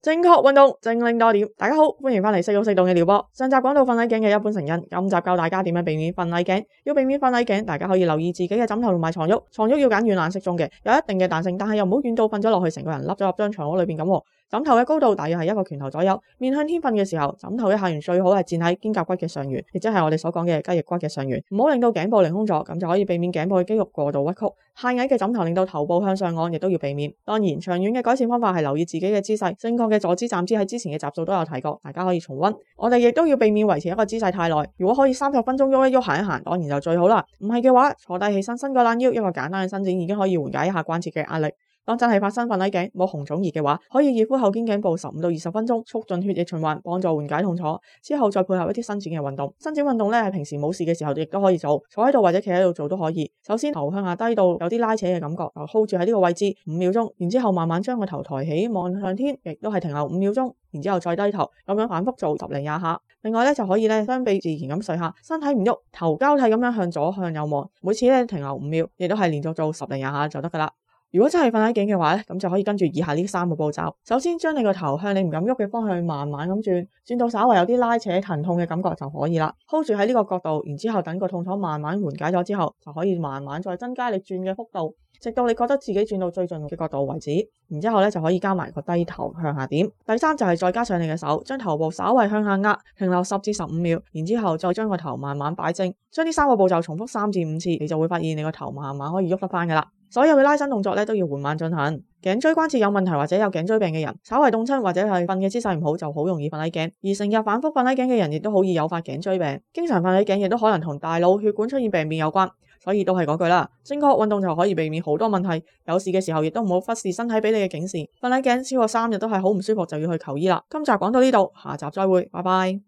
正確運動，正令多點。大家好，歡迎翻嚟識郁適動嘅療播。上集講到瞓捩頸嘅一般成因，今集教大家點樣避免瞓捩頸。要避免瞓捩頸，大家可以留意自己嘅枕頭同埋床褥。床褥要揀軟硬適中嘅，有一定嘅彈性，但係又唔好軟到瞓咗落去，成個人笠咗入張床褥裏邊咁。枕頭嘅高度大約係一個拳頭左右，面向天瞓嘅時候，枕頭嘅下緣最好係墊喺肩胛骨嘅上緣，亦即係我哋所講嘅雞翼骨嘅上緣，唔好令到頸部凌空咗，咁就可以避免頸部嘅肌肉過度屈曲。太矮嘅枕頭令到頭部向上按，亦都要避免。當然，長遠嘅改善方法係留意自己嘅姿勢，正確嘅坐姿站姿喺之前嘅集數都有提過，大家可以重溫。我哋亦都要避免維持一個姿勢太耐，如果可以30分鐘喐一喐行一行，當然就最好啦。唔係嘅話，坐低起身伸個懶腰，一個簡單嘅伸展已經可以緩解一下關節嘅壓力。當真係發生瞓捩頸冇紅腫熱嘅話，可以熱敷後肩頸部15到20分鐘，促進血液循環，幫助緩解痛楚。之後再配合一啲伸展嘅運動。伸展運動咧，係平時冇事嘅時候亦都可以做，坐喺度或者企喺度做都可以。首先頭向下低到有啲拉扯嘅感覺，就 hold 住喺呢個位置5秒鐘，然之後慢慢將個頭抬起望向天，亦都係停留5秒鐘，然之後再低頭，咁樣反覆做10零20下。另外咧就可以咧雙臂自然咁睡下，身體唔喐，頭交替咁樣向左向右望，每次咧停留5秒，亦都係連續做10零20下就得噶啦。如果真係瞓捩頸嘅話咧，咁就可以跟住以下呢3個步驟。首先將你個頭向你唔敢喐嘅方向慢慢咁轉到稍為有啲拉扯疼痛嘅感覺就可以啦。hold 住喺呢個角度，然之後等個痛楚慢慢緩解咗之後，就可以慢慢再增加你轉嘅幅度，直到你覺得自己轉到最盡嘅角度為止。然之後咧就可以加埋個低頭向下點。第三就係再加上你嘅手，將頭部稍為向下壓，停留10至15秒，然之後再將個頭慢慢擺正。將呢3個步驟重複3至5次，你就會發現你個頭慢慢可以喐得翻噶啦。所有嘅拉伸動作咧都要緩慢進行。頸椎關節有問題或者有頸椎病嘅人，稍為凍親或者係瞓嘅姿勢唔好，就好容易瞓捩頸。而成日反覆瞓捩頸嘅人，亦都好易誘發頸椎病。經常瞓捩頸亦都可能同大腦血管出現病變有關。所以都係嗰句啦，正確運動就可以避免好多問題。有事嘅時候亦都唔好忽視身體俾你嘅警示。瞓捩頸超過3日都係好唔舒服，就要去求醫啦。今集講到呢度，下集再會，拜拜。